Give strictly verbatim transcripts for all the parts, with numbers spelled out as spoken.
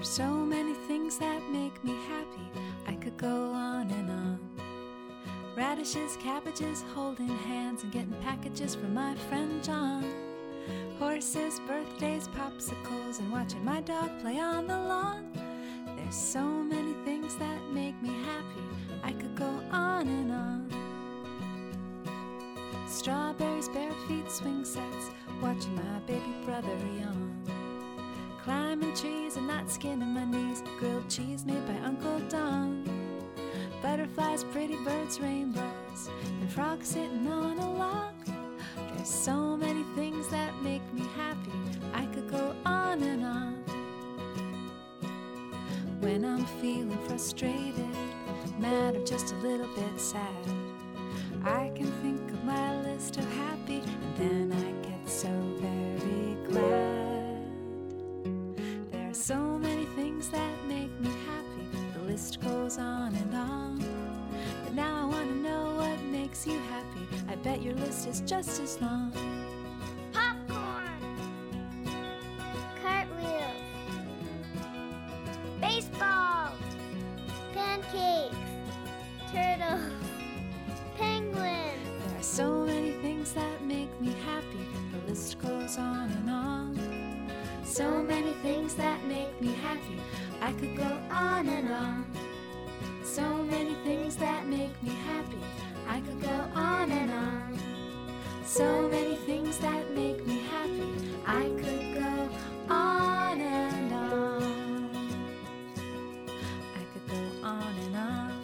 There's so many things that make me happy. I could go on and on. Radishes, cabbages, holding hands and getting packages from my friend John. Horses, birthdays, popsicles, and watching my dog play on the lawn. There's so many things that make me happy. I could go on and on. Strawberries, bare feet, swing sets, watching my baby brother yawn. Climbing trees and not skinning my knees, grilled cheese made by Uncle Don. Butterflies, pretty birds, rainbows, and frogs sitting on a log. There's so many things that make me happy. I could go on and on. When I'm feeling frustrated, mad, or just a little bit sad, I can think of my list of happy, and then I get so very glad. There are so many things that make me happy. The list goes on and on. But now I want to know what makes you happy. I bet your list is just as long. Popcorn, cartwheels, baseball, pancakes, turtles, penguins. There are so many things that make me happy. The list goes on and on. So many things that make me happy. I could go on and on. So many things that make me happy. I could go on and on. So many things that make me happy. I could go on and on. I could go on and on.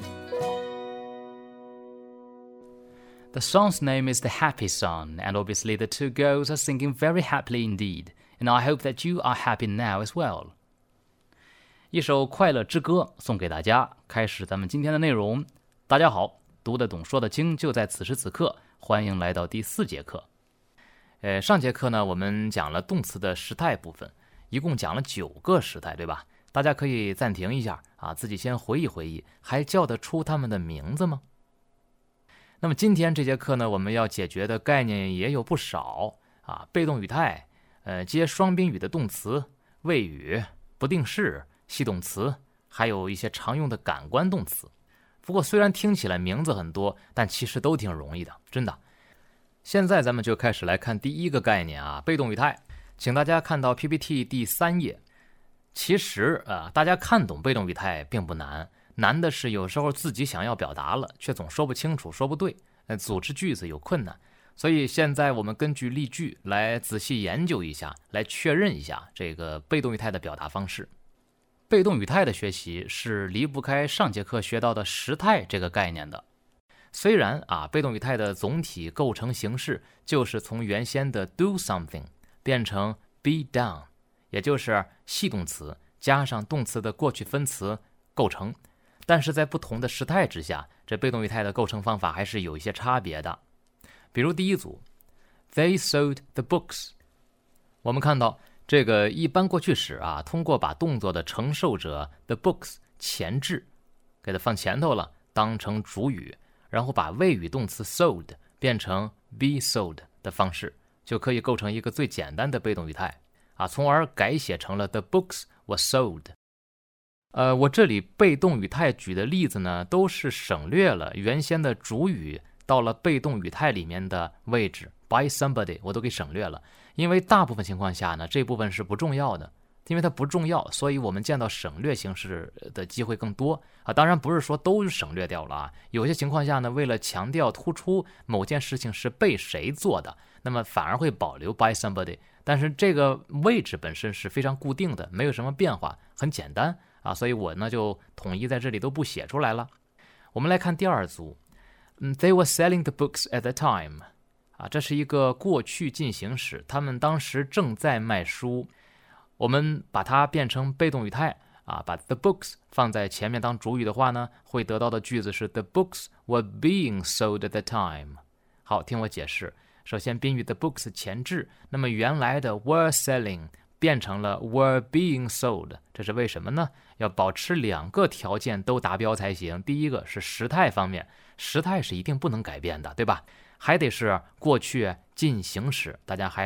The song's name is The Happy Song, and obviously the two girls are singing very happily indeed, and I hope that you are happy now as well. 一首快乐之歌送给大家，开始咱们今天的内容。大家好，读得懂说得清就在此时此刻，欢迎来到第四节课。呃，上节课呢我们讲了动词的时态部分，一共讲了九个时态，对吧？大家可以暂停一下啊，自己先回忆回忆，还叫得出他们的名字吗？那么今天这节课呢，我们要解决的概念也有不少啊，被动语态，呃，接双宾语的动词，谓语，不定式，系动词，还有一些常用的感官动词。不过虽然听起来名字很多，但其实都挺容易的，真的。现在咱们就开始来看第一个概念啊，被动语态。请大家看到 P P T 第三页。其实啊，大家看懂被动语态并不难，难的是有时候自己想要表达了，却总说不清楚，说不对，呃，组织句子有困难。所以现在我们根据例句来仔细研究一下，来确认一下这个被动语态的表达方式。被动语态的学习是离不开上节课学到的时态这个概念的。虽然啊，被动语态的总体构成形式就是从原先的 do something 变成 be done， 也就是系动词加上动词的过去分词构成，但是在不同的时态之下，这被动语态的构成方法还是有一些差别的。比如第一组 They sold the books， 我们看到这个一般过去时啊，通过把动作的承受者 the books 前置给它放前头了，当成主语，然后把谓语动词 sold 变成 be sold 的方式，就可以构成一个最简单的被动语态啊，从而改写成了 the books were sold。呃，我这里被动语态举的例子呢，都是省略了原先的主语到了被动语态里面的位置 by somebody 我都给省略了，因为大部分情况下呢，这部分是不重要的，因为它不重要，所以我们见到省略形式的机会更多啊。当然不是说都省略掉了啊，有些情况下呢，为了强调突出某件事情是被谁做的，那么反而会保留 by somebody， 但是这个位置本身是非常固定的，没有什么变化，很简单啊，所以我呢就统一在这里都不写出来了。我们来看第二组 They were selling the books at the time， 啊，这是一个过去进行时，他们当时正在卖书。我们把它变成被动语态啊，把 the books 放在前面当主语的话呢，会得到的句子是 The books were being sold at the time。 好，听我解释。首先宾语 the books 前置，那么原来的 were selling 变成了 were being sold， 这是为什么呢？要保持两个条件都达标才行。第一个是时态方面，时态是一定不能改变的，对吧？还得是过去进行时，大家还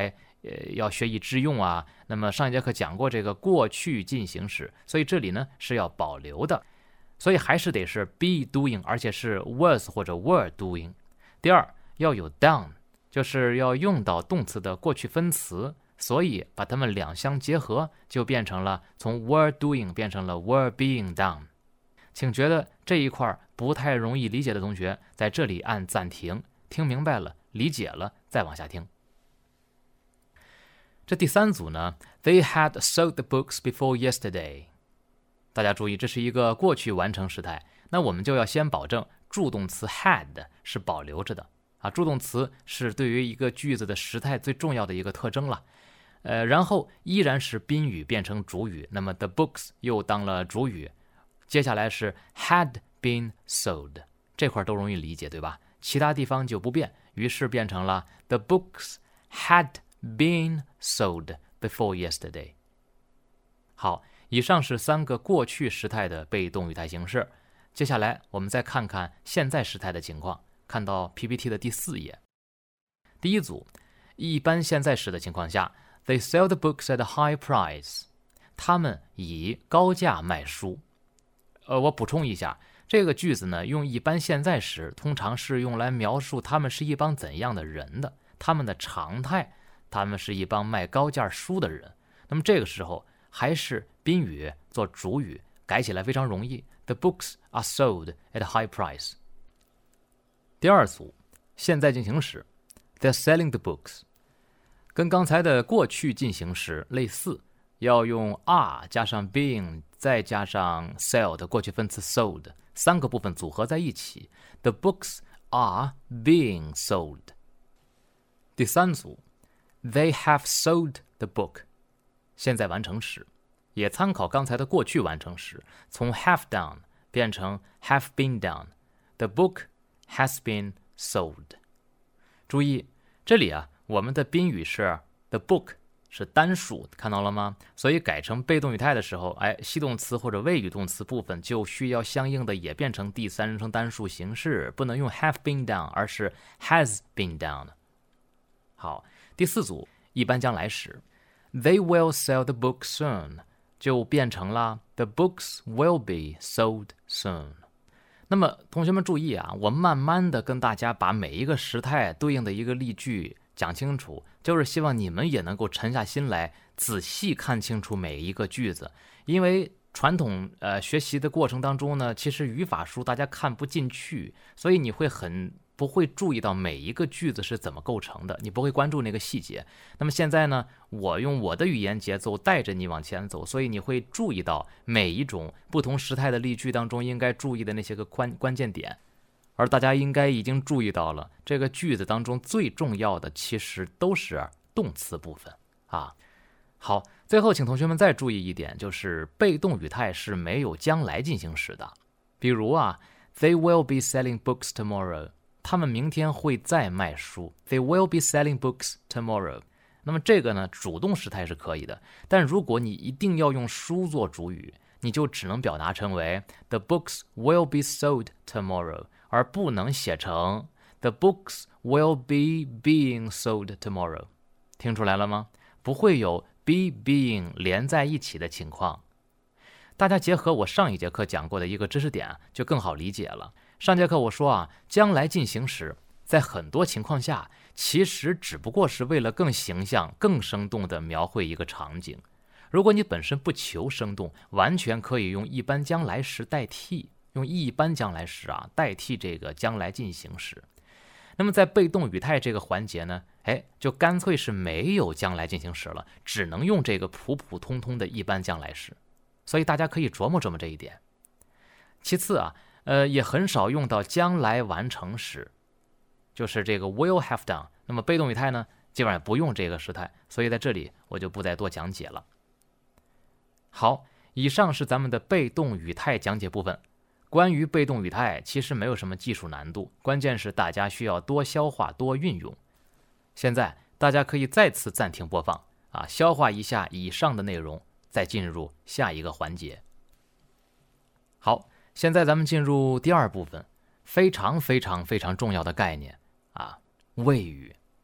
呃要学以致用啊。那么上一节课讲过这个过去进行时，所以这里呢是要保留的，所以还是得是 be doing， 而且是 was 或者 were doing。第二，要有 done， 就是要用到动词的过去分词，所以把它们两相结合，就变成了从 were doing 变成了 were being done。请觉得这一块不太容易理解的同学，在这里按暂停，听明白了，理解了，再往下听。这第三组呢 ，They had sold the books before yesterday。大家注意，这是一个过去完成时态，那我们就要先保证助动词 had 是保留着的啊。助动词是对于一个句子的时态最重要的一个特征了。呃，然后依然是宾语变成主语，那么 the books 又当了主语。接下来是 had been sold， 这块都容易理解，对吧？其他地方就不变，于是变成了 the books had been sold before yesterday。 好，以上是三个过去时态的被动语态形式。接下来我们再看看现在时态的情况，看到 P P T 的第四页。第一组，一般现在时的情况下， They sell the books at a high price， 他们以高价卖书。呃，我补充一下，这个句子呢，用一般现在时通常是用来描述他们是一帮怎样的人的，他们的常态，他们是一帮卖高价书的人。那么这个时候还是宾语做主语，改起来非常容易。The books are sold at a high price。 第二组，现在进行时 They're selling the books， 跟刚才的过去进行时类似，要用 are 加上 being 再加上 sell 的过去分词 sold， 三个部分组合在一起。 The books are being sold。 第三组， They have sold the book， 现在完成时，也参考刚才的过去完成时，从 have done 变成 have been done。 The book has been sold。 注意这里啊，我们的宾语是 the book，是单数，看到了吗？所以改成被动语态的时候，哎，系动词或者谓语动词部分就需要相应的也变成第三人称单数形式，不能用 have been done， 而是 has been done。 好，第四组，一般将来时 They will sell the book soon， 就变成了 The books will be sold soon。 那么同学们注意啊，我慢慢的跟大家把每一个时态对应的一个例句讲清楚，就是希望你们也能够沉下心来，仔细看清楚每一个句子。因为传统呃学习的过程当中呢，其实语法书大家看不进去，所以你会很不会注意到每一个句子是怎么构成的，你不会关注那个细节。那么现在呢，我用我的语言节奏带着你往前走，所以你会注意到每一种不同时态的例句当中应该注意的那些个关关键点。而大家应该已经注意到了，这个句子当中最重要的其实都是动词部分啊。好，最后请同学们再注意一点，就是被动语态是没有将来进行时的。比如啊 They will be selling books tomorrow， 他们明天会再卖书。 They will be selling books tomorrow。 那么这个呢，主动时态是可以的，但如果你一定要用书做主语，你就只能表达成为 The books will be sold tomorrow，而不能写成 The books will be being sold tomorrow。 听出来了吗？不会有 be being 连在一起的情况。大家结合我上一节课讲过的一个知识点，就更好理解了。上节课我说啊，将来进行时在很多情况下其实只不过是为了更形象更生动地描绘一个场景。如果你本身不求生动，完全可以用一般将来时代替，用一般将来时啊代替这个将来进行时。那么在被动语态这个环节呢，哎，就干脆是没有将来进行时了，只能用这个普普通通的一般将来时。所以大家可以琢磨琢磨这一点。其次啊，呃，也很少用到将来完成时，就是这个 will have done。那么被动语态呢，基本上不用这个时态，所以在这里我就不再多讲解了。好，以上是咱们的被动语态讲解部分。关于被动语态其实没有什么技术难度，关键是大家需要多消化多运用。现在大家可以再次暂停播放啊，消化一下以上的内容，再进入下一个环节。好，现在咱们进入第二部分，非常非常非常重要的概念啊，谓语。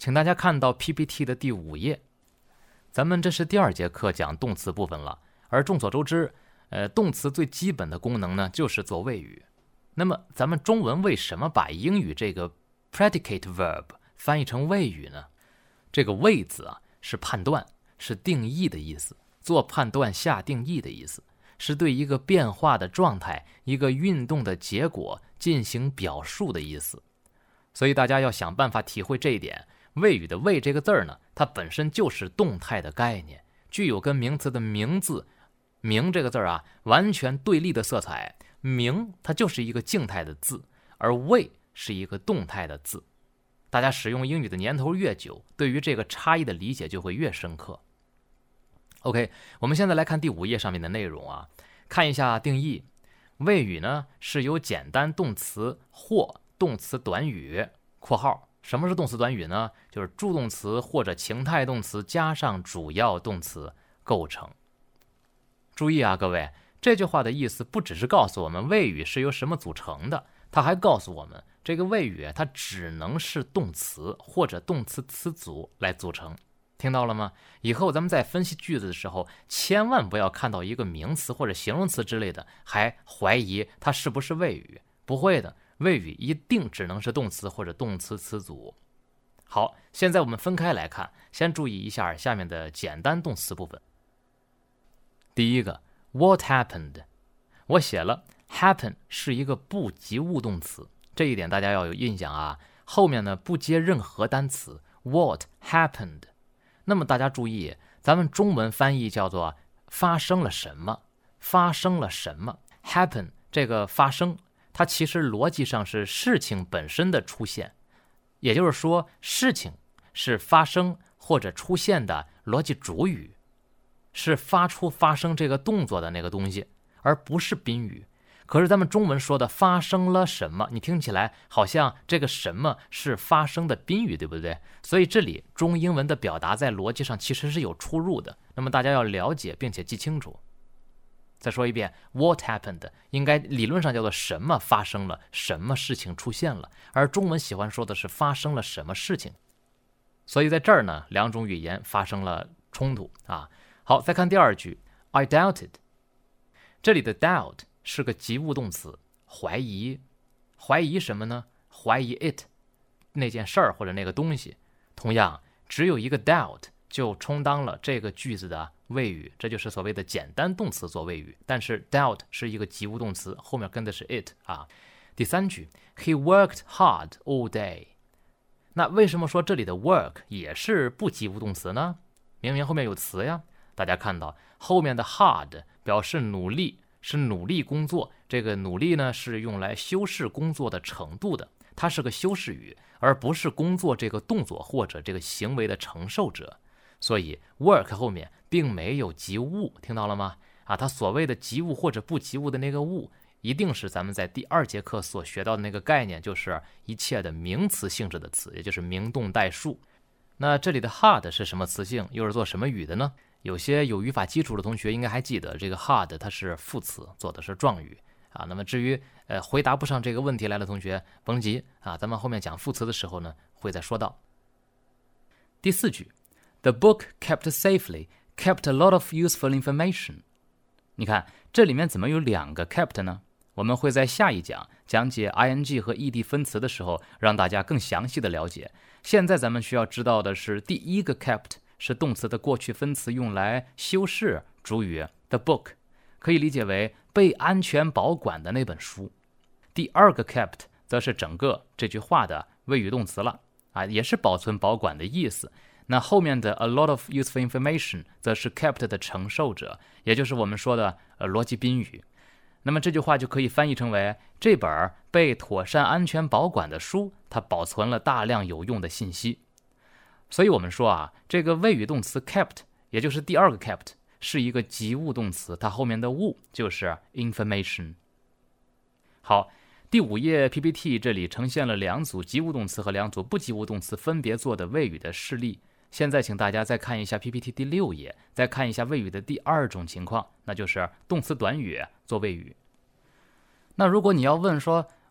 请大家看到 P P T 的第五页。咱们这是第二节课讲动词部分了，而众所周知，呃，动词最基本的功能呢就是做谓语。那么咱们中文为什么把英语这个 predicate verb 翻译成谓语呢？这个谓字啊是判断，是定义的意思，做判断下定义的意思，是对一个变化的状态、一个运动的结果进行表述的意思。所以大家要想办法体会这一点。谓语的谓这个字儿呢，它本身就是动态的概念，具有跟名词的名字名这个字儿啊完全对立的色彩。名它就是一个静态的字，而谓是一个动态的字。大家使用英语的年头越久，对于这个差异的理解就会越深刻。OK， 我们现在来看第五页上面的内容啊，看一下定义。谓语呢是由简单动词或动词短语（括号）什么是动词短语呢？就是助动词或者情态动词加上主要动词构成。注意啊，各位，这句话的意思不只是告诉我们谓语是由什么组成的，它还告诉我们这个谓语它只能是动词或者动词词组来组成。听到了吗？以后咱们在分析句子的时候，千万不要看到一个名词或者形容词之类的，还怀疑它是不是谓语。不会的，谓语一定只能是动词或者动词词组。好，现在我们分开来看，先注意一下下面的简单动词部分。第一个 What happened？ 我写了 happen 是一个不及物动词，这一点大家要有印象啊。后面呢不接任何单词 What happened？ 那么大家注意，咱们中文翻译叫做发生了什么，发生了什么 happen 这个发生它其实逻辑上是事情本身的出现，也就是说事情是发生或者出现的逻辑主语，是发出发生这个动作的那个东西，而不是宾语。可是咱们中文说的发生了什么，你听起来好像这个什么是发生的宾语，对不对？所以这里中英文的表达在逻辑上其实是有出入的，那么大家要了解并且记清楚。再说一遍 What happened 应该理论上叫做什么发生了，什么事情出现了，而中文喜欢说的是发生了什么事情。所以在这儿呢，两种语言发生了冲突啊。好，再看第二句 I doubted， 这里的 doubt 是个及物动词，怀疑。怀疑什么呢？怀疑 it 那件事儿或者那个东西。同样只有一个 doubt 就充当了这个句子的谓语，这就是所谓的简单动词做谓语。但是 doubt 是一个及物动词，后面跟的是 it 啊。第三句 He worked hard all day， 那为什么说这里的 work 也是不及物动词呢？明明后面有词呀。大家看到后面的 hard 表示努力，是努力工作，这个努力呢是用来修饰工作的程度的，它是个修饰语，而不是工作这个动作或者这个行为的承受者。所以 work 后面并没有及物，听到了吗？啊，它所谓的及物或者不及物的那个物，一定是咱们在第二节课所学到的那个概念，就是一切的名词性质的词，也就是名动代数。那这里的 hard 是什么词性，又是做什么语的呢？有些有语法基础的同学应该还记得，这个 hard 它是副词，做的是状语啊。那么至于呃回答不上这个问题来的同学，甭急啊，咱们后面讲副词的时候呢，会再说到。第四句 The book kept safely kept a lot of useful information。 你看这里面怎么有两个 kept 呢？我们会在下一讲讲解 ing 和 ed 分词的时候，让大家更详细的了解。现在咱们需要知道的是，第一个 kept 是动词的过去分词，用来修饰主语 the book， 可以理解为被安全保管的那本书。第二个 kept 则是整个这句话的谓语动词了啊，也是保存保管的意思。那后面的 a lot of useful information 则是 kept 的承受者，也就是我们说的呃逻辑宾语。那么这句话就可以翻译成为，这本被妥善安全保管的书，它保存了大量有用的信息。所以我们说啊，这个谓语动词 kept， 也就是第二个 kept， 是一个及物动词，它后面的物就是 information。 好，第五页 P P T 这里呈现了两组及物动词和两组不及物动词分别做的谓语的示例。现在请大家再看一下 P P T 第六页，再看一下谓语的第二种情况，那就是动词短语做谓语。那如果你要问说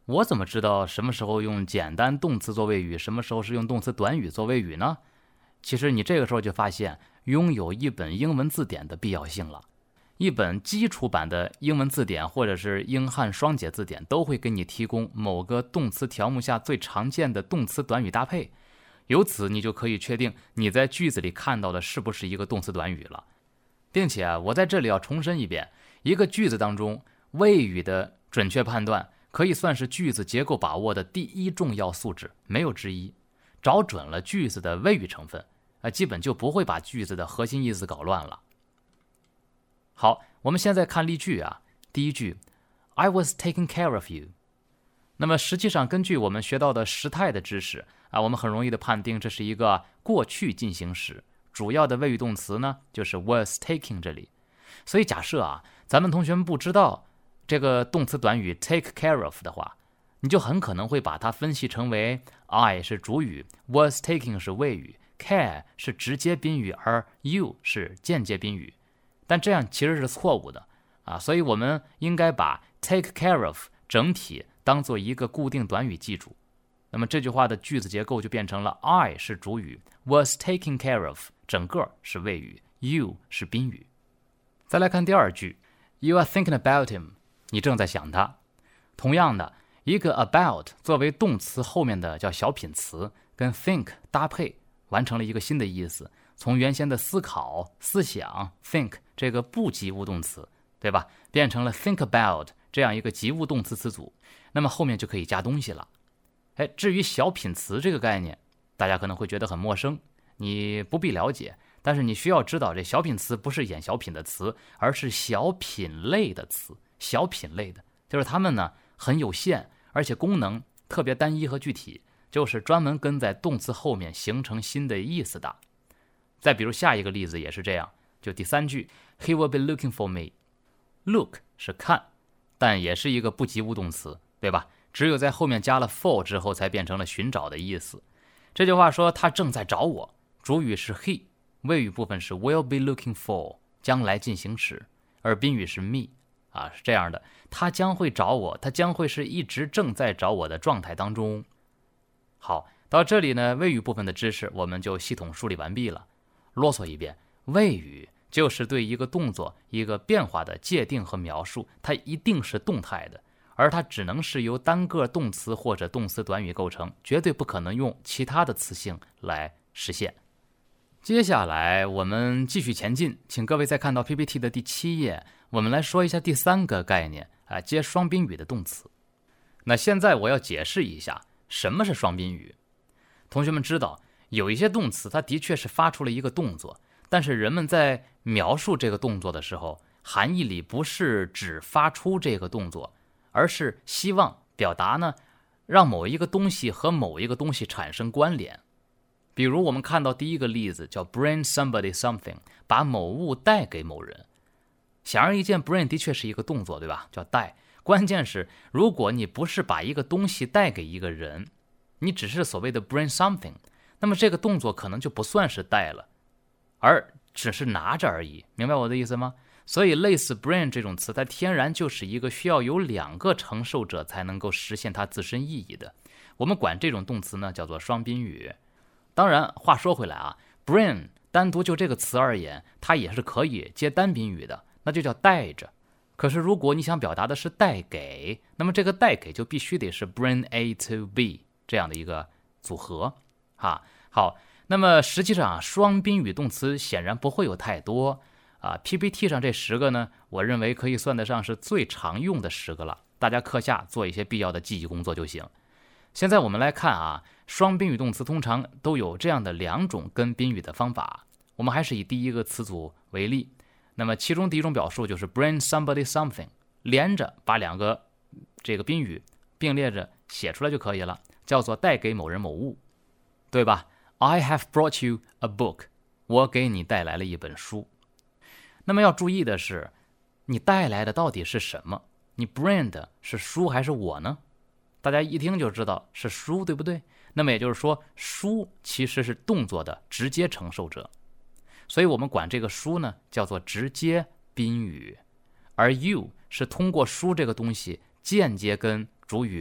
我怎么知道什么时候用简单动词做谓语，什么时候是用动词短语做谓语呢？其实你这个时候就发现拥有一本英文字典的必要性了。一本基础版的英文字典或者是英汉双解字典都会给你提供某个动词条目下最常见的动词短语搭配，由此你就可以确定你在句子里看到的是不是一个动词短语了。并且我在这里要重申一遍，一个句子当中谓语的准确判断可以算是句子结构把握的第一重要素质，没有之一。找准了句子的谓语成分，呃，基本就不会把句子的核心意思搞乱了。好，我们现在看例句啊。第一句 I was taking care of you。 那么实际上根据我们学到的时态的知识啊，我们很容易的判定这是一个过去进行时，主要的谓语动词呢就是 was taking 这里。所以假设啊，咱们同学们不知道这个动词短语 take care of 的话，你就很可能会把它分析成为 I 是主语， was taking 是谓语， care 是直接宾语，而 you 是间接宾语。但这样其实是错误的啊，所以我们应该把 take care of 整体当做一个固定短语记住。那么这句话的句子结构就变成了 I 是主语， was taking care of 整个是谓语， you 是宾语。再来看第二句 You are thinking about him， 你正在想他。同样的，一个 about 作为动词后面的叫小品词，跟 think 搭配，完成了一个新的意思，从原先的思考、思想 think 这个不及物动词，对吧，变成了 think about 这样一个及物动词词组，那么后面就可以加东西了。哎，至于小品词这个概念，大家可能会觉得很陌生，你不必了解，但是你需要知道，这小品词不是演小品的词，而是小品类的词。小品类的就是它们呢很有限，而且功能特别单一和具体，就是专门跟在动词后面形成新的意思的。再比如下一个例子也是这样，就第三句 He will be looking for me。 Look 是看，但也是一个不及物动词，对吧？只有在后面加了 for 之后才变成了寻找的意思。这句话说他正在找我，主语是 he， 谓语部分是 will be looking for 将来进行时，而宾语是 me 啊，是这样的，他将会找我，他将会是一直正在找我的状态当中。好，到这里呢，谓语部分的知识我们就系统梳理完毕了。啰嗦一遍，谓语就是对一个动作一个变化的界定和描述，它一定是动态的，而它只能是由单个动词或者动词短语构成，绝对不可能用其他的词性来实现。接下来我们继续前进，请各位再看到 P P T 的第七页，我们来说一下第三个概念啊，接双宾语的动词。那现在我要解释一下什么是双宾语。同学们知道有一些动词它的确是发出了一个动作，但是人们在描述这个动作的时候，含义里不是只发出这个动作，而是希望表达呢，让某一个东西和某一个东西产生关联。比如我们看到第一个例子叫 bring somebody something， 把某物带给某人。显而易见 bring 的确是一个动作，对吧，叫带。关键是如果你不是把一个东西带给一个人，你只是所谓的 bring something， 那么这个动作可能就不算是带了，而只是拿着而已，明白我的意思吗？所以类似 bring 这种词，它天然就是一个需要有两个承受者才能够实现它自身意义的。我们管这种动词呢叫做双宾语。当然话说回来啊， bring 单独就这个词而言，它也是可以接单宾语的，那就叫带着。可是如果你想表达的是带给，那么这个带给就必须得是 bring A to B 这样的一个组合啊。好，那么实际上双宾语动词显然不会有太多啊。P P T 上这十个呢，我认为可以算得上是最常用的十个了，大家课下做一些必要的记忆工作就行。现在我们来看啊，双宾语动词通常都有这样的两种跟宾语的方法。我们还是以第一个词组为例，那么其中第一种表述就是 bring somebody something， 连着把两个这个宾语并列着写出来就可以了，叫做带给某人某物，对吧？ I have brought you a book， 我给你带来了一本书。那么要注意的是，你带来的到底是什么？你 bring 的是书还是我呢？大家一听就知道是书，对不对？那么也就是说，书其实是动作的直接承受者，所以我们管这个书呢叫做直接宾语，而 you 是通过书这个东西间接跟主语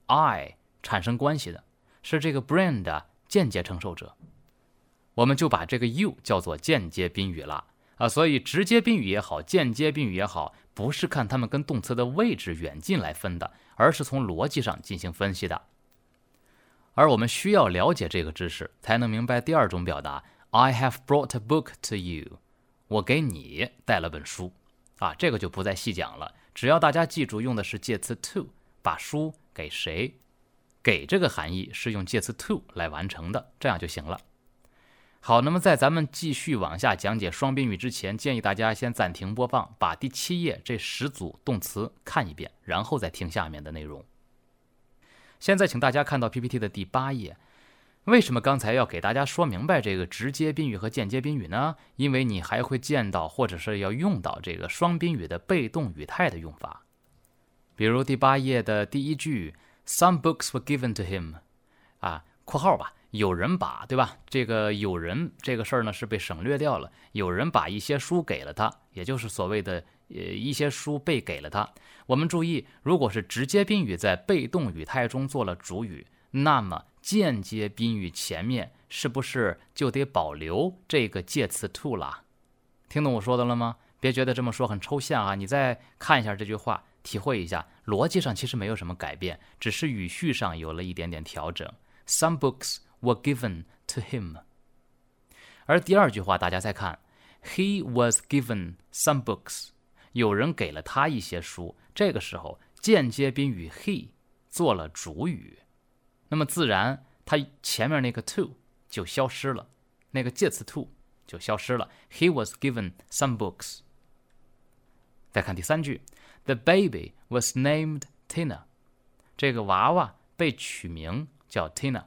I 产生关系的，是这个 brain 的间接承受者，我们就把这个 you 叫做间接宾语了啊。所以直接宾语也好，间接宾语也好，不是看它们跟动词的位置远近来分的，而是从逻辑上进行分析的。而我们需要了解这个知识，才能明白第二种表达 I have brought a book to you， 我给你带了本书啊，这个就不再细讲了，只要大家记住用的是介词 to， 把书给谁，给这个含义是用介词 to 来完成的，这样就行了。好，那么在咱们继续往下讲解双宾语之前，建议大家先暂停播放，把第七页这十组动词看一遍，然后再听下面的内容。现在请大家看到 P P T 的第八页。为什么刚才要给大家说明白这个直接宾语和间接宾语呢？因为你还会见到或者是要用到这个双宾语的被动语态的用法。比如第八页的第一句 Some books were given to him 啊，括号吧，有人把，对吧？这个有人这个事儿呢是被省略掉了，有人把一些书给了他，也就是所谓的呃一些书被给了他。我们注意，如果是直接宾语在被动语态中做了主语，那么间接宾语前面是不是就得保留这个介词 to 啦？听懂我说的了吗？别觉得这么说很抽象啊，你再看一下这句话，体会一下，逻辑上其实没有什么改变，只是语序上有了一点点调整。Some books were given to him。 而第二句话大家再看 He was given some books， 有人给了他一些书，这个时候间接宾语 he 做了主语，那么自然它前面那个 to 就消失了，那个介词 to 就消失了。 He was given some books。 再看第三句 The baby was named Tina， 这个娃娃被取名叫 Tina。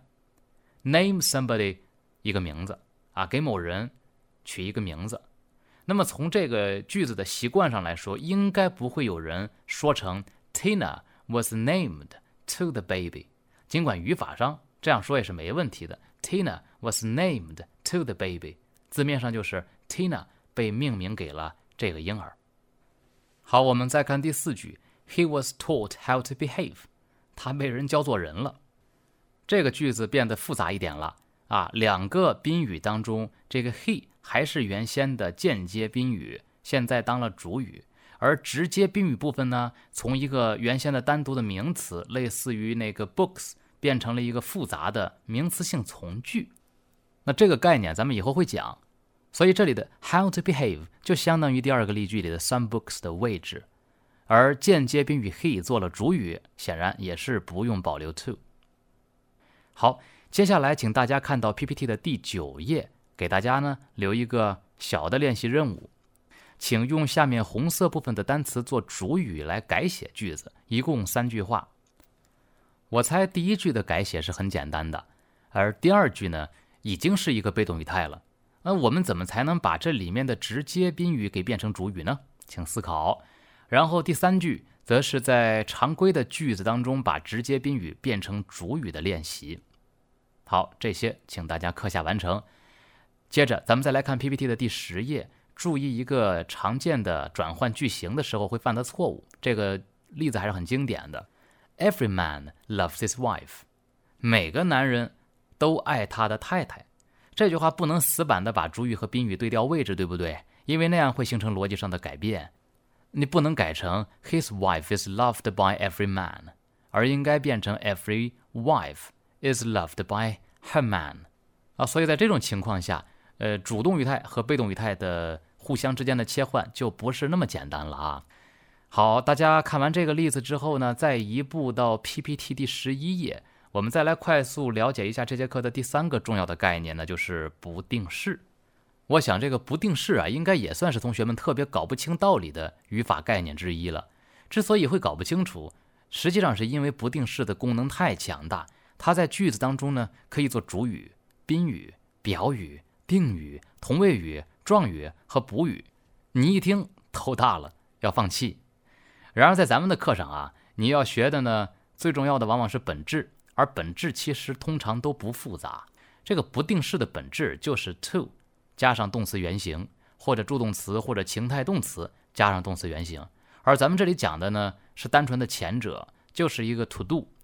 Name somebody 一个名字啊，给某人取一个名字。那么从这个句子的习惯上来说，应该不会有人说成 Tina was named to the baby， 尽管语法上这样说也是没问题的。 Tina was named to the baby， 字面上就是 Tina 被命名给了这个婴儿。好，我们再看第四句 He was taught how to behave， 他被人教做人了。这个句子变得复杂一点了啊，两个宾语当中，这个 he 还是原先的间接宾语，现在当了主语，而直接宾语部分呢，从一个原先的单独的名词，类似于那个 books， 变成了一个复杂的名词性从句。那这个概念咱们以后会讲，所以这里的 how to behave 就相当于第二个例句里的 some books 的位置，而间接宾语 he 做了主语，显然也是不用保留 to。好，接下来请大家看到 P P T 的第九页，给大家呢留一个小的练习任务，请用下面红色部分的单词做主语来改写句子，一共三句话。我猜第一句的改写是很简单的，而第二句呢已经是一个被动语态了。那我们怎么才能把这里面的直接宾语给变成主语呢？请思考。然后第三句则是在常规的句子当中把直接宾语变成主语的练习。好，这些请大家课下完成。接着咱们再来看 P P T 的第十页，注意一个常见的转换句型的时候会犯的错误，这个例子还是很经典的。 Every man loves his wife， 每个男人都爱他的太太。这句话不能死板的把主语和宾语对调位置，对不对？因为那样会形成逻辑上的改变。你不能改成 His wife is loved by every man， 而应该变成 Every wife is loved by her man 啊，所以在这种情况下，呃，主动语态和被动语态的互相之间的切换就不是那么简单了啊。好，大家看完这个例子之后呢，再移步到 P P T 第十一页，我们再来快速了解一下这节课的第三个重要的概念呢，就是不定式。我想这个不定式啊，应该也算是同学们特别搞不清道理的语法概念之一了。之所以会搞不清楚，实际上是因为不定式的功能太强大。它在句子当中呢，可以做主语、宾语、表语、定语、同位语、状语和补语。你一听头大了，要放弃。然而在咱们的课上啊，你要学的呢，最重要的往往是本质，而本质其实通常都不复杂。这个不定式的本质就是 to 加上动词原形，或者助动词或者情态动词加上动词原形。而咱们这里讲的呢，是单纯的前者，就是一个 to do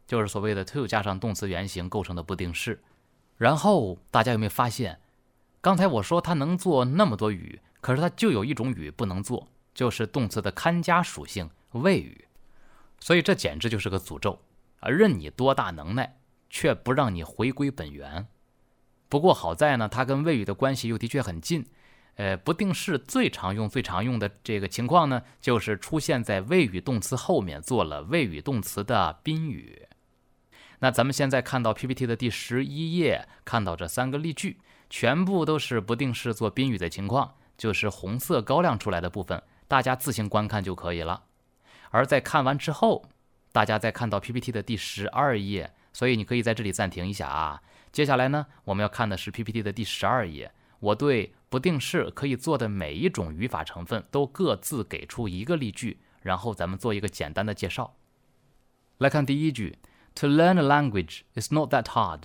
就是所谓的 to 加上动词原形构成的不定式。然后大家有没有发现，刚才我说它能做那么多语，可是它就有一种语不能做，就是动词的看家属性谓语。所以这简直就是个诅咒啊！任你多大能耐，却不让你回归本源。不过好在呢，它跟谓语的关系又的确很近。呃，不定式最常用、最常用的这个情况呢，就是出现在谓语动词后面做了谓语动词的宾语。那咱们现在看到 P P T 的第十一页，看到这三个例句，全部都是不定式做宾语的情况，就是红色高亮出来的部分，大家自行观看就可以了。而在看完之后，大家再看到 P P T 的第十二页，所以你可以在这里暂停一下啊。接下来呢，我们要看的是 P P T 的第十二页，我对不定式可以做的每一种语法成分都各自给出一个例句，然后咱们做一个简单的介绍。来看第一句 ，To learn a language is not that hard。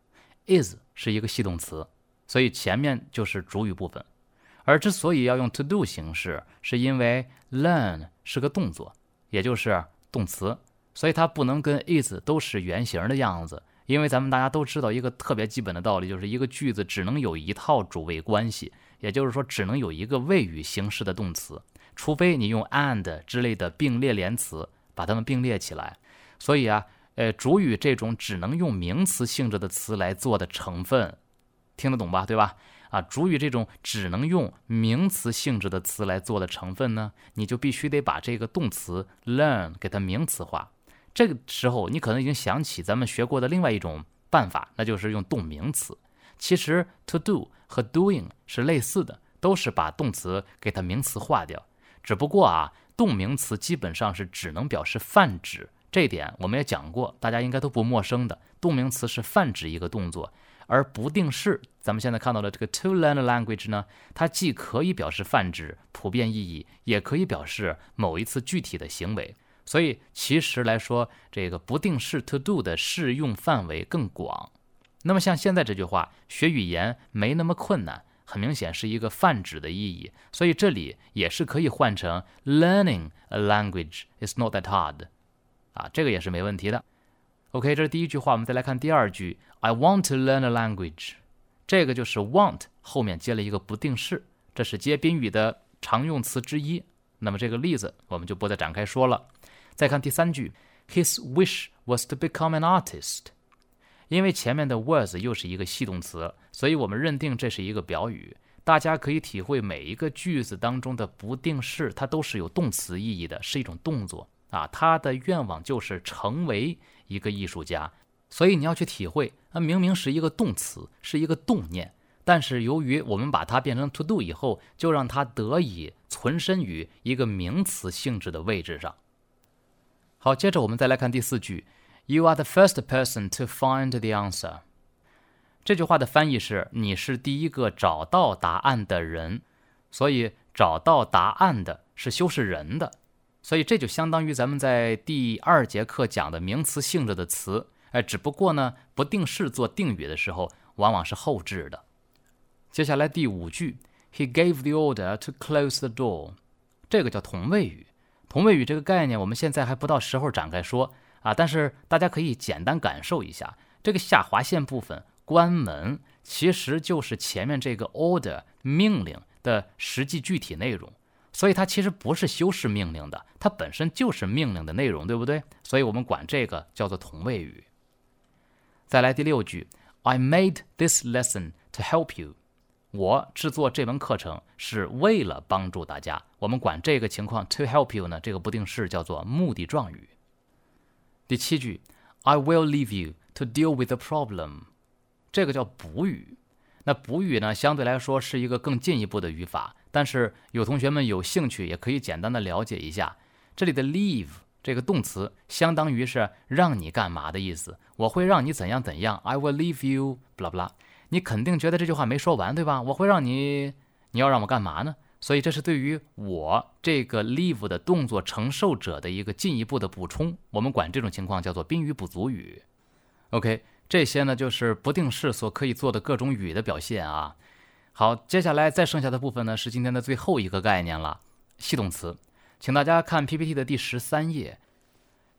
is 是一个系动词，所以前面就是主语部分。而之所以要用 to do 形式，是因为 learn 是个动作，也就是动词，所以它不能跟 is 都是原形的样子。因为咱们大家都知道一个特别基本的道理，就是一个句子只能有一套主谓关系，也就是说只能有一个谓语形式的动词，除非你用 and 之类的并列连词把它们并列起来。所以啊，呃，主语这种只能用名词性质的词来做的成分，听得懂吧？对吧？啊，主语这种只能用名词性质的词来做的成分呢，你就必须得把这个动词 learn 给它名词化。这个时候你可能已经想起咱们学过的另外一种办法，那就是用动名词。其实 to do 和 doing 是类似的，都是把动词给它名词化掉。只不过啊，动名词基本上是只能表示泛指，这一点我们也讲过，大家应该都不陌生的。动名词是泛指一个动作，而不定式咱们现在看到的这个 to learn a language 呢，它既可以表示泛指普遍意义，也可以表示某一次具体的行为。所以其实来说，这个不定式 to do 的适用范围更广。那么像现在这句话，学语言没那么困难，很明显是一个泛指的意义，所以这里也是可以换成 learning a language is not that hard 啊，这个也是没问题的。OK， 这是第一句话，我们再来看第二句 I want to learn a language。 这个就是 want 后面接了一个不定式，这是接宾语的常用词之一。那么这个例子我们就不再展开说了。再看第三句 His wish was to become an artist。 因为前面的 was 又是一个系动词，所以我们认定这是一个表语。大家可以体会每一个句子当中的不定式，它都是有动词意义的，是一种动作啊。他的愿望就是成为一个艺术家，所以你要去体会，啊，明明是一个动词，是一个动念，但是由于我们把它变成 to do 以后，就让它得以存身于一个名词性质的位置上。好，接着我们再来看第四句 You are the first person to find the answer。 这句话的翻译是你是第一个找到答案的人，所以找到答案的是修饰人的，所以这就相当于咱们在第二节课讲的名词性质的词，哎，只不过呢不定式做定语的时候往往是后置的。接下来第五句 He gave the order to close the door。 这个叫同位语。同位语这个概念我们现在还不到时候展开说啊，但是大家可以简单感受一下，这个下划线部分关门其实就是前面这个 order 命令的实际具体内容，所以它其实不是修饰命令的，它本身就是命令的内容，对不对？所以我们管这个叫做同位语。再来第六句 I made this lesson to help you。 我制作这门课程是为了帮助大家，我们管这个情况 to help you 呢，这个不定式叫做目的状语。第七句 I will leave you to deal with the problem。 这个叫补语。那补语呢相对来说是一个更进一步的语法，但是有同学们有兴趣也可以简单的了解一下，这里的 leave 这个动词相当于是让你干嘛的意思，我会让你怎样怎样 I will leave you blah blah。 你肯定觉得这句话没说完，对吧？我会让你，你要让我干嘛呢？所以这是对于我这个 leave 的动作承受者的一个进一步的补充，我们管这种情况叫做宾语补足语。 OK， 这些呢就是不定式所可以做的各种语的表现啊。好，接下来再剩下的部分呢是今天的最后一个概念了，系动词。请大家看 P P T 的第十三页，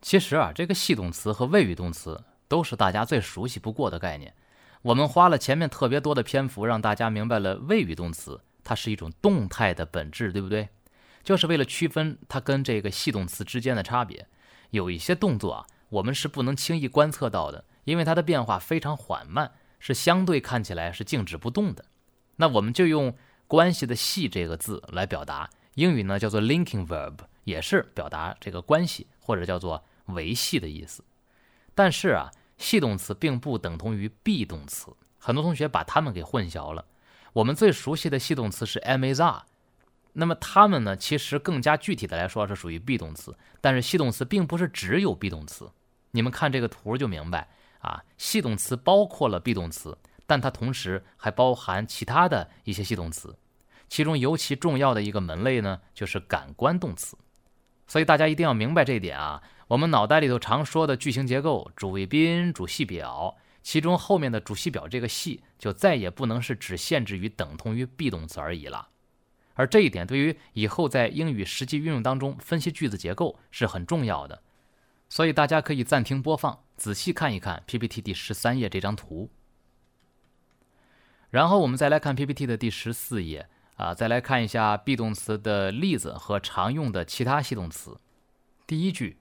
其实啊，这个系动词和谓语动词都是大家最熟悉不过的概念。我们花了前面特别多的篇幅，让大家明白了谓语动词它是一种动态的本质，对不对？就是为了区分它跟这个系动词之间的差别。有一些动作啊，我们是不能轻易观测到的，因为它的变化非常缓慢，是相对看起来是静止不动的。那我们就用关系的系这个字来表达，英语呢叫做 linking verb， 也是表达这个关系或者叫做维系的意思。但是啊，系动词并不等同于 be 动词，很多同学把它们给混淆了。我们最熟悉的系动词是 am is are， 那么它们呢其实更加具体的来说是属于 be 动词，但是系动词并不是只有 be 动词。你们看这个图就明白啊，系动词包括了 be 动词，但它同时还包含其他的一些系动词，其中尤其重要的一个门类呢就是感官动词。所以大家一定要明白这一点啊，我们脑袋里头常说的句型结构，主谓宾、主系表，其中后面的主系表这个系就再也不能是只限制于等同于 be 动词而已了。而这一点对于以后在英语实际运用当中分析句子结构是很重要的。所以大家可以暂停播放，仔细看一看 P P T 第十三页这张图。然后我们再来看 P P T 的第十四页啊，再来看一下 be 动词的例子和常用的其他系动词。第一句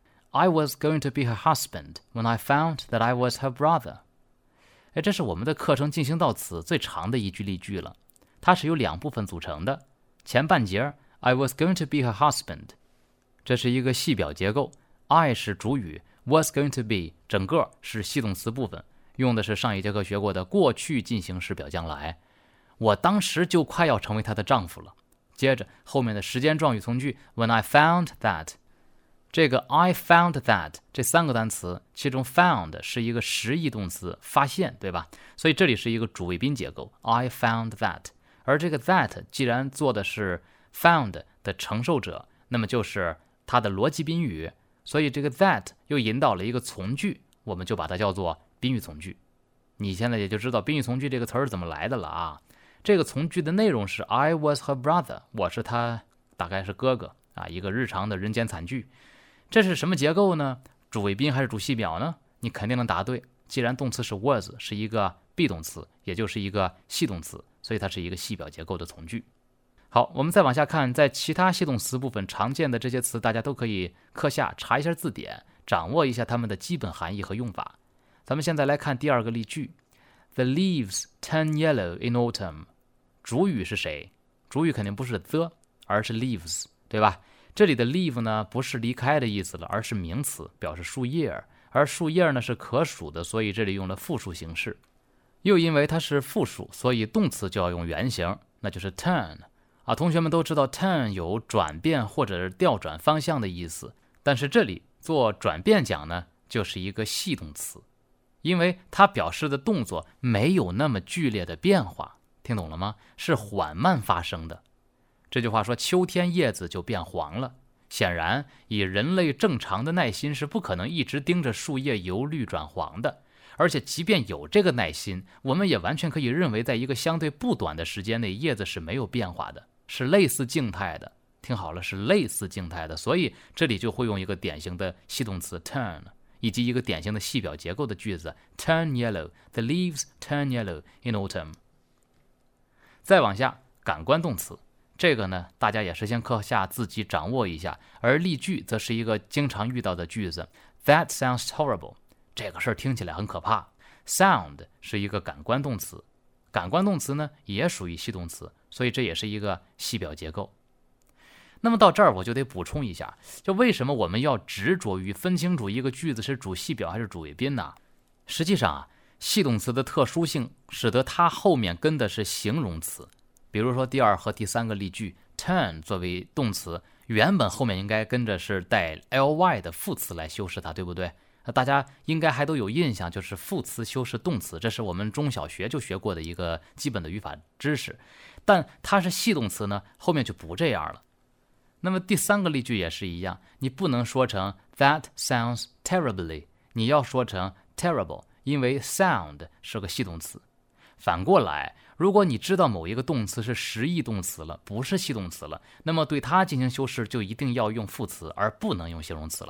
I was going to be her husband when I found that I was her brother。 哎，这是我们的课程进行到此最长的一句例句了。它是由两部分组成的，前半节 I was going to be her husband， 这是一个系表结构， I 是主语， was going to be 整个是系动词部分，用的是上一节课学过的过去进行时表将来。我当时就快要成为她的丈夫了。接着后面的时间状语从句 When I found that， 这个 I found that 这三个单词，其中 found 是一个实义动词，发现，对吧？所以这里是一个主谓宾结构 I found that， 而这个 that 既然做的是 found 的承受者，那么就是它的逻辑宾语，所以这个 that 又引导了一个从句，我们就把它叫做宾语从句。你现在也就知道宾语从句这个词儿怎么来的了啊。这个从句的内容是 I was her brother， 我是他大概是哥哥啊，一个日常的人间惨剧。这是什么结构呢？主谓宾还是主系表呢？你肯定能答对。既然动词是 was， 是一个 be 动词，也就是一个系动词，所以它是一个系表结构的从句。好，我们再往下看，在其他系动词部分常见的这些词，大家都可以课下查一下字典，掌握一下它们的基本含义和用法。咱们现在来看第二个例句 The leaves turn yellow in autumn。 主语是谁？主语肯定不是 the， 而是 leaves， 对吧？这里的 leave 呢不是离开的意思了，而是名词，表示树叶，而树叶呢是可数的，所以这里用了复数形式。又因为它是复数，所以动词就要用原形，那就是 turn 啊。同学们都知道 turn 有转变或者是调转方向的意思，但是这里做转变讲呢就是一个系动词，因为它表示的动作没有那么剧烈的变化，听懂了吗？是缓慢发生的。这句话说秋天叶子就变黄了，显然以人类正常的耐心是不可能一直盯着树叶由绿转黄的，而且即便有这个耐心，我们也完全可以认为在一个相对不短的时间内叶子是没有变化的，是类似静态的。听好了，是类似静态的，所以这里就会用一个典型的系动词 turn， 以及一个典型的系表结构的句子 turn yellow， The leaves turn yellow in autumn。 再往下，感官动词，这个呢大家也是先课下自己掌握一下，而例句则是一个经常遇到的句子 That sounds horrible， 这个事儿听起来很可怕。 Sound 是一个感官动词，感官动词呢也属于系动词，所以这也是一个系表结构。那么到这儿我就得补充一下，就为什么我们要执着于分清楚一个句子是主系表还是主谓宾呢？实际上啊，系动词的特殊性使得它后面跟的是形容词。比如说第二和第三个例句 turn 作为动词，原本后面应该跟着是带 ly 的副词来修饰它，对不对？大家应该还都有印象，就是副词修饰动词，这是我们中小学就学过的一个基本的语法知识。但它是系动词呢，后面就不这样了。那么第三个例句也是一样，你不能说成 That sounds terribly， 你要说成 terrible， 因为 sound 是个系动词。反过来，如果你知道某一个动词是实义动词了，不是系动词了，那么对它进行修饰就一定要用副词，而不能用形容词了。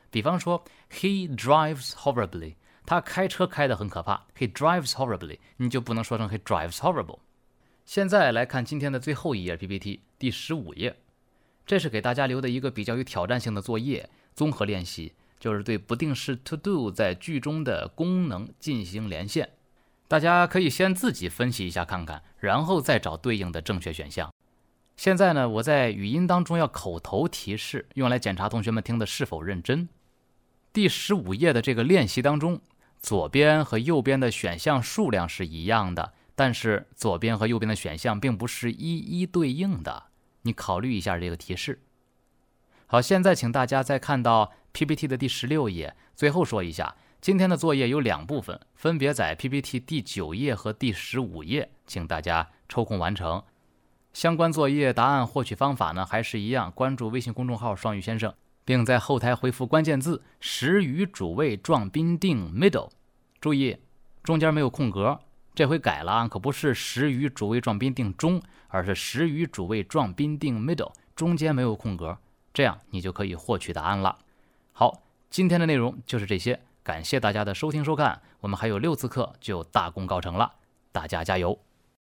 比方说 He drives horribly， 他开车开得很可怕， He drives horribly， 你就不能说成 He drives horrible。 现在来看今天的最后一页 P P T 第十五页，这是给大家留的一个比较有挑战性的作业，综合练习，就是对不定式 to do 在句中的功能进行连线。大家可以先自己分析一下看看，然后再找对应的正确选项。现在呢，我在语音当中要口头提示，用来检查同学们听的是否认真。第十五页的这个练习当中，左边和右边的选项数量是一样的，但是左边和右边的选项并不是一一对应的，你考虑一下这个提示。好，现在请大家再看到 P P T 的第十六页，最后说一下，今天的作业有两部分，分别在 P P T 第九页和第十五页，请大家抽空完成。相关作业答案获取方法呢，还是一样，关注微信公众号双语先生，并在后台回复关键字时语主谓状宾定 middle， 注意中间没有空格，这回改了啊，可不是时语主谓状宾定中，而是时语主谓状宾定 middle， 中间没有空格，这样你就可以获取答案了。好，今天的内容就是这些，感谢大家的收听收看，我们还有六次课就大功告成了，大家加油。